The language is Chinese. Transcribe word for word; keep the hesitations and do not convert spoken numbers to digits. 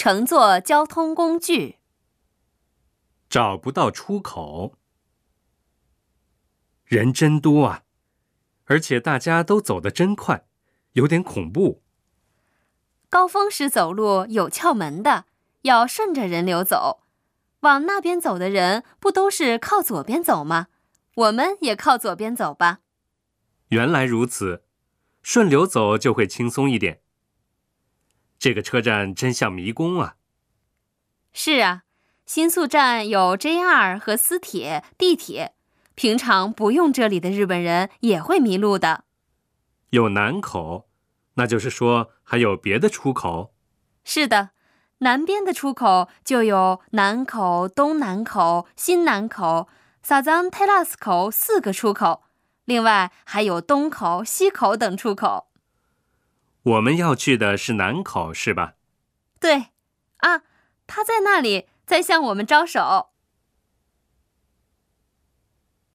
乘坐交通工具。 找不到出口。人真多啊，而且大家都走得真快，有点恐怖。 高峰时走路有窍门的，要顺着人流走。往那边走的人不都是靠左边走吗？我们也靠左边走吧。 原来如此，顺流走就会轻松一点。这个车站真像迷宫啊。 是啊，新宿站有 J R 和私铁、地铁，平常不用这里的日本人也会迷路的。 有南口，那就是说还有别的出口？ 是的，南边的出口就有南口、东南口、新南口、萨赞泰拉斯口四个出口，另外还有东口、西口等出口。 我们要去的是南口，是吧？ 对，啊，他在那里，在向我们招手。